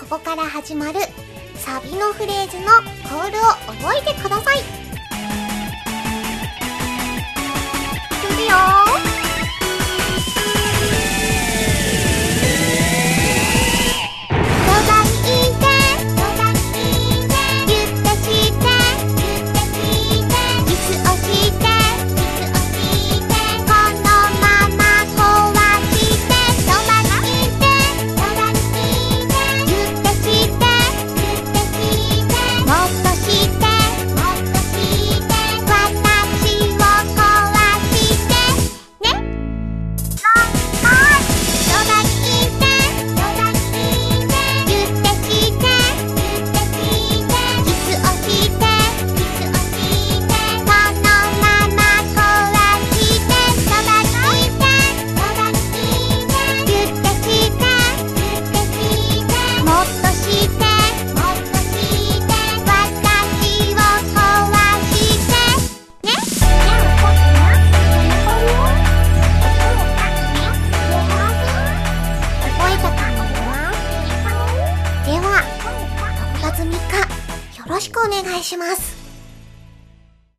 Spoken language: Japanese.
こから始まるサビのフレーズのコールを覚えてください。いくよよろしくお願いします。